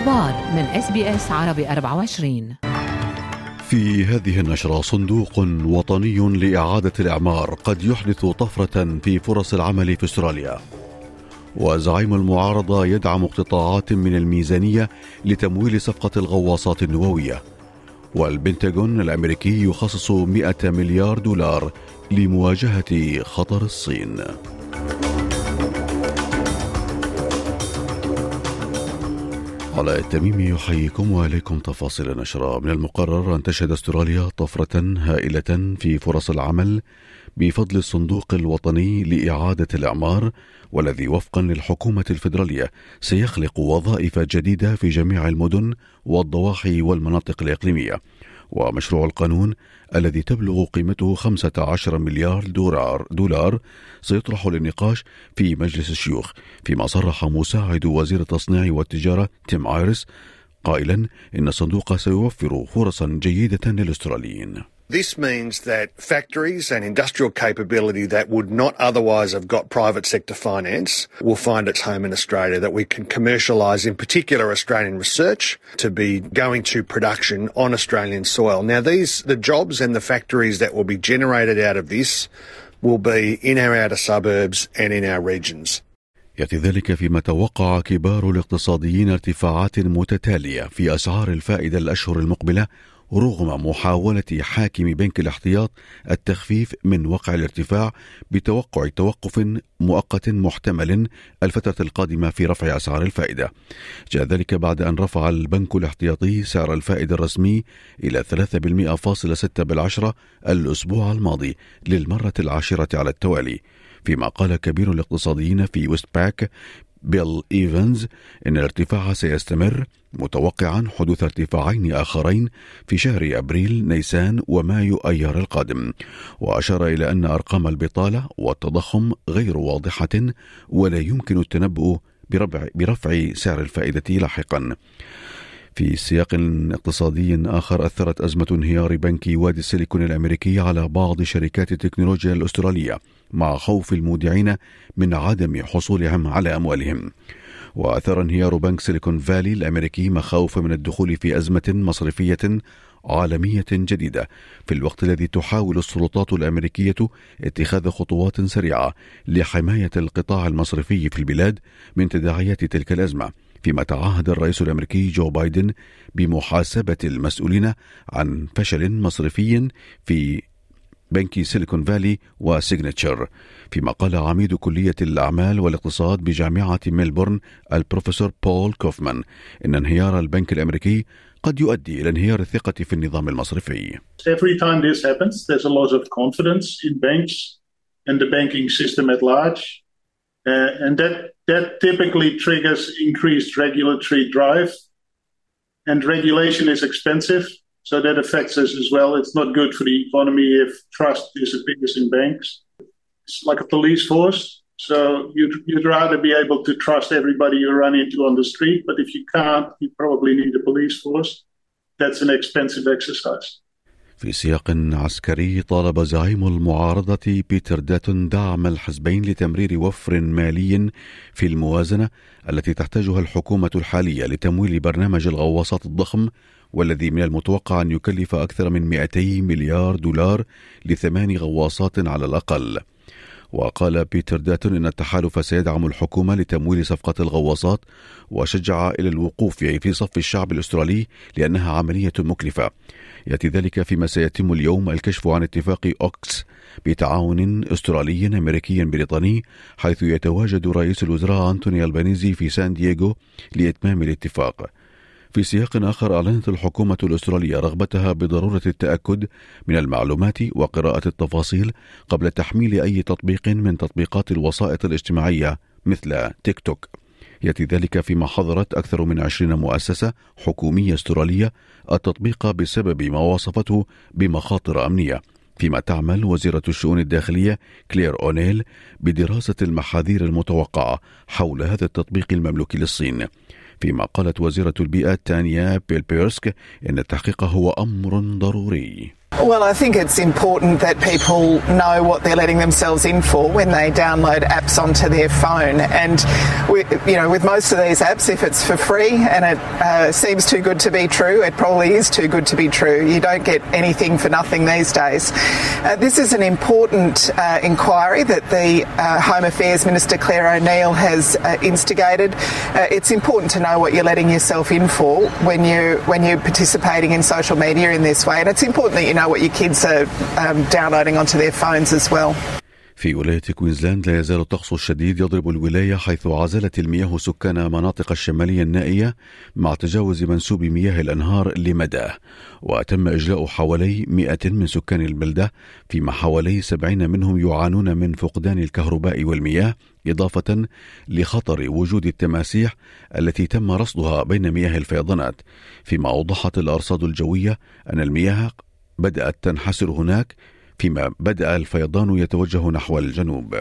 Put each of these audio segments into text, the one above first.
الأخبار من SBS عربي 24. في هذه النشرة: صندوق وطني لإعادة الإعمار قد يحدث طفرة في فرص العمل في أستراليا. وزعيم المعارضة يدعم اقتطاعات من الميزانية لتمويل صفقة الغواصات النووية. والبنتاغون الأمريكي يخصص 100 مليار دولار لمواجهة خطر الصين. علاء التميمي يحييكم وإليكم تفاصيل النشرة. من المقرر أن تشهد أستراليا طفرة هائلة في فرص العمل بفضل الصندوق الوطني لإعادة الإعمار، والذي وفقا للحكومة الفيدرالية سيخلق وظائف جديدة في جميع المدن والضواحي والمناطق الإقليمية. ومشروع القانون الذي تبلغ قيمته 15 مليار دولار سيطرح للنقاش في مجلس الشيوخ، فيما صرح مساعد وزير التصنيع والتجارة تيم آيرس قائلا إن الصندوق سيوفر فرصا جيدة للأستراليين. This means that factories and industrial capability that would not otherwise have got private sector finance will find its home in Australia, that we can commercialise, in particular, Australian research to be going to production on Australian soil. Now, the jobs and the factories that will be generated out of this will be in our outer suburbs and in our regions. يأتي ذلك فيما توقع كبار الاقتصاديين ارتفاعات متتالية في أسعار الفائدة الأشهر المقبلة، رغم محاولة حاكم بنك الاحتياط التخفيف من وقع الارتفاع بتوقع توقف مؤقت محتمل الفترة القادمة في رفع أسعار الفائدة. جاء ذلك بعد أن رفع البنك الاحتياطي سعر الفائدة الرسمي إلى 3.6% الأسبوع الماضي للمرة العاشرة على التوالي، فيما قال كبير الاقتصاديين في ويست باك بيل إيفنز إن الارتفاع سيستمر، متوقعا حدوث ارتفاعين آخرين في شهر أبريل نيسان ومايو أيار القادم. وأشار إلى أن أرقام البطالة والتضخم غير واضحة ولا يمكن التنبؤ برفع سعر الفائدة لاحقا. في سياق اقتصادي آخر، أثرت أزمة انهيار بنك وادي السيليكون الأمريكي على بعض شركات التكنولوجيا الأسترالية، مع خوف المودعين من عدم حصولهم على أموالهم. وأثر انهيار بنك سيليكون فالي الأمريكي مخاوف من الدخول في أزمة مصرفية عالمية جديدة، في الوقت الذي تحاول السلطات الأمريكية اتخاذ خطوات سريعة لحماية القطاع المصرفي في البلاد من تداعيات تلك الأزمة، فيما تعهد الرئيس الأمريكي جو بايدن بمحاسبة المسؤولين عن فشل مصرفي في بنك سيليكون فالي وسيغنتشر. فيما قال عميد كلية الأعمال والاقتصاد بجامعة ميلبورن البروفيسور بول كوفمان إن انهيار البنك الأمريكي قد يؤدي إلى انهيار الثقة في النظام المصرفي. Every time this happens, there's a loss of confidence in banks and the banking system at large, and that typically triggers increased regulatory drive, and regulation is expensive, so that affects us as well. It's not good for the economy if trust disappears in banks. It's like a police force, so you'd rather be able to trust everybody you run into on the street, but if you can't, you probably need a police force. That's an expensive exercise. في سياق عسكري، طالب زعيم المعارضة بيتر داتون دعم الحزبين لتمرير وفر مالي في الموازنة التي تحتاجها الحكومة الحالية لتمويل برنامج الغواصات الضخم، والذي من المتوقع أن يكلف أكثر من 200 مليار دولار ل8 غواصات على الأقل. وقال بيتر داتون إن التحالف سيدعم الحكومة لتمويل صفقة الغواصات، وشجع إلى الوقوف في صف الشعب الأسترالي لأنها عملية مكلفة. يأتي ذلك فيما سيتم اليوم الكشف عن اتفاق أوكس بتعاون أسترالي أمريكي بريطاني، حيث يتواجد رئيس الوزراء أنتوني ألبانيزي في سان دييغو لإتمام الاتفاق. في سياق آخر، أعلنت الحكومة الأسترالية رغبتها بضرورة التأكد من المعلومات وقراءة التفاصيل قبل تحميل أي تطبيق من تطبيقات الوسائط الاجتماعية مثل تيك توك. يأتي ذلك فيما حظرت أكثر من 20 مؤسسة حكومية أسترالية التطبيق بسبب ما وصفته بمخاطر أمنية، فيما تعمل وزيرة الشؤون الداخلية كلير أونيل بدراسة المحاذير المتوقعة حول هذا التطبيق المملوك للصين. فيما قالت وزيرة البيئة تانيا بيل بيرسك إن التحقيق هو أمر ضروري. Well, I think it's important that people know what they're letting themselves in for when they download apps onto their phone. And, with most of these apps, if it's for free and it seems too good to be true, it probably is too good to be true. You don't get anything for nothing these days. This is an important inquiry that the Home Affairs Minister Claire O'Neil has instigated. It's important to know what you're letting yourself in for when you're participating in social media in this way. And it's important that you know what your kids are downloading onto their phones as well. في ولاية كوينزلاند لا يزال الطقس الشديد يضرب الولاية، حيث عزلت المياه سكان مناطق الشمالية النائية مع تجاوز منسوب مياه الأنهار لمداه، وتم إجلاء حوالي 100 من سكان البلدة، فيما حوالي 70 منهم يعانون من فقدان الكهرباء والمياه، إضافة لخطر وجود التماسيح التي تم رصدها بين مياه الفيضانات. فيما أوضحت الأرصاد الجوية أن المياه بدأت تنحسر هناك، فيما بدأ الفيضان يتوجه نحو الجنوب.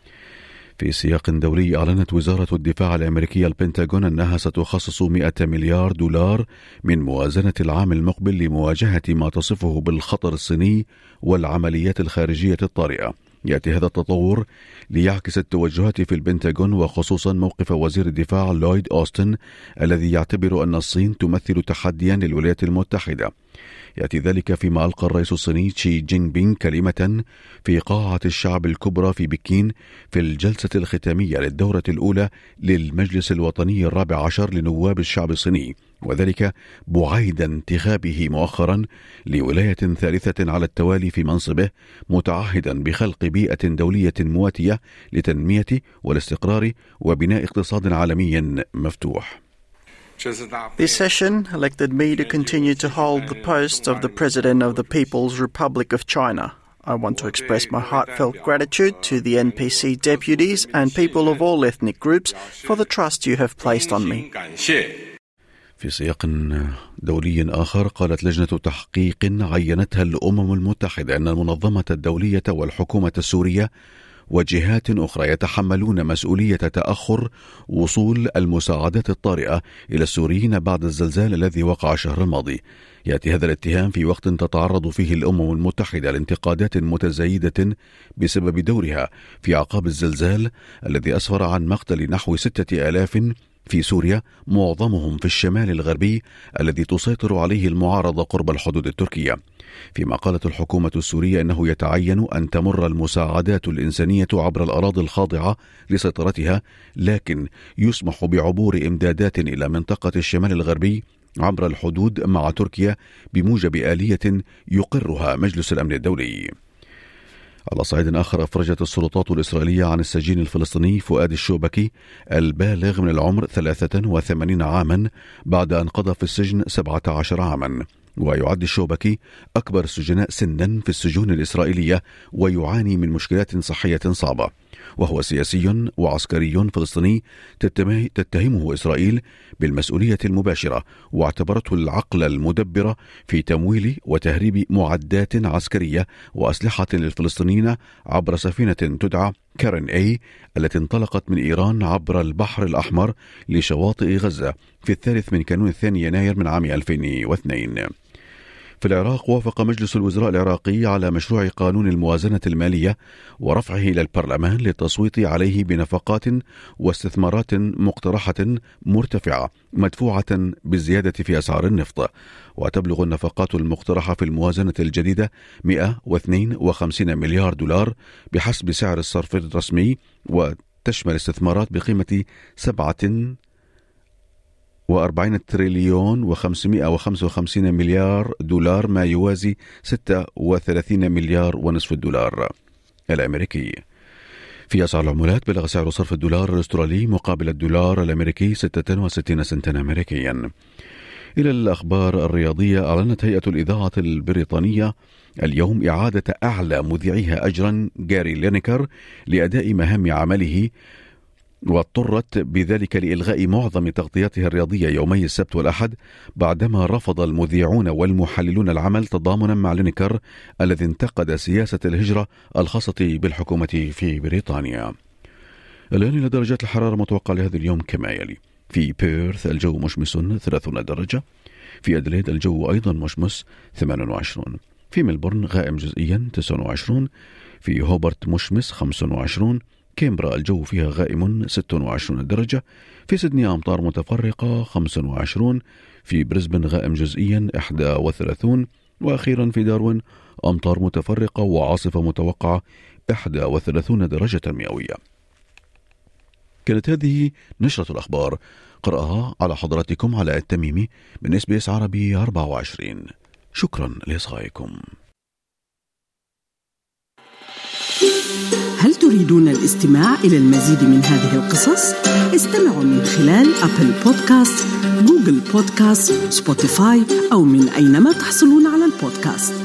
في سياق دولي، أعلنت وزارة الدفاع الأمريكية البنتاغون أنها ستخصص 100 مليار دولار من موازنة العام المقبل لمواجهة ما تصفه بالخطر الصيني والعمليات الخارجية الطارئة. يأتي هذا التطور ليعكس التوجهات في البنتاغون، وخصوصا موقف وزير الدفاع لويد أوستن الذي يعتبر أن الصين تمثل تحديا للولايات المتحدة. يأتي ذلك فيما ألقى الرئيس الصيني شي جين بينغ كلمة في قاعة الشعب الكبرى في بكين في الجلسة الختامية للدورة الأولى للمجلس الوطني الرابع عشر لنواب الشعب الصيني، وذلك بعيد انتخابه مؤخرا لولاية ثالثة على التوالي في منصبه، متعهدا بخلق بيئة دولية مواتية لتنمية والاستقرار وبناء اقتصاد عالمي مفتوح. This session elected me to continue to hold the post of the President of the People's Republic of China. I want to express my heartfelt gratitude to the NPC deputies and people of all ethnic groups for the trust you have placed on me. في سياق دولي آخر، قالت لجنة تحقيق عينتها الأمم المتحدة أن المنظمة الدولية والحكومة السورية وجهات أخرى يتحملون مسؤولية تأخر وصول المساعدات الطارئة إلى السوريين بعد الزلزال الذي وقع الشهر الماضي. يأتي هذا الاتهام في وقت تتعرض فيه الأمم المتحدة لانتقادات متزايدة بسبب دورها في أعقاب الزلزال الذي أسفر عن مقتل نحو 6000 في سوريا، معظمهم في الشمال الغربي الذي تسيطر عليه المعارضة قرب الحدود التركية. فيما قالت الحكومة السورية أنه يتعين أن تمر المساعدات الإنسانية عبر الأراضي الخاضعة لسيطرتها، لكن يسمح بعبور إمدادات إلى منطقة الشمال الغربي عبر الحدود مع تركيا بموجب آلية يقرها مجلس الأمن الدولي. على صعيد آخر، أفرجت السلطات الإسرائيلية عن السجين الفلسطيني فؤاد الشوبكي البالغ من العمر 83 عاما بعد أن قضى في السجن 17 عاما. ويعد الشوبكي أكبر السجناء سنا في السجون الإسرائيلية، ويعاني من مشكلات صحية صعبة. وهو سياسي وعسكري فلسطيني تتهمه إسرائيل بالمسؤولية المباشرة، واعتبرته العقل المدبر في تمويل وتهريب معدات عسكرية وأسلحة للفلسطينيين عبر سفينة تدعى كارين أي التي انطلقت من إيران عبر البحر الأحمر لشواطئ غزة في 3 كانون 2 يناير من عام 2002. في العراق، وافق مجلس الوزراء العراقي على مشروع قانون الموازنة المالية ورفعه إلى البرلمان للتصويت عليه بنفقات واستثمارات مقترحة مرتفعة مدفوعة بالزيادة في أسعار النفط. وتبلغ النفقات المقترحة في الموازنة الجديدة 152 مليار دولار بحسب سعر الصرف الرسمي، وتشمل استثمارات بقيمة 47 تريليون و555 مليار دولار، ما يوازي 36 مليار ونصف الدولار الأمريكي. في أسعار العملات، بلغ سعر صرف الدولار الأسترالي مقابل الدولار الأمريكي 66 سنتا أمريكيا. إلى الأخبار الرياضية، أعلنت هيئة الإذاعة البريطانية اليوم إعادة أعلى مذيعيها أجرا جاري لينيكر لأداء مهام عمله، واضطرت بذلك لإلغاء معظم تغطياتها الرياضية يومي السبت والأحد بعدما رفض المذيعون والمحللون العمل تضامنا مع لينيكر الذي انتقد سياسة الهجرة الخاصة بالحكومة في بريطانيا. الآن إلى درجات الحرارة المتوقعة لهذا اليوم كما يلي: في بيرث الجو مشمس 30 درجة، في أدليد الجو أيضا مشمس 28، في ملبورن غائم جزئيا 29، في هوبرت مشمس 25، كامبرا الجو فيها غائم 26 درجة، في سيدني أمطار متفرقة 25، في بريسبن غائم جزئيا 31، وأخيرا في داروين أمطار متفرقة وعاصفة متوقعة 31 درجة مئوية. كانت هذه نشرة الأخبار قرأها على حضراتكم علاء التميمي من SBS عربي 24. شكرا لإصغائكم. هل تريدون الاستماع إلى المزيد من هذه القصص؟ استمعوا من خلال أبل بودكاست، جوجل بودكاست، سبوتيفاي أو من أينما تحصلون على البودكاست.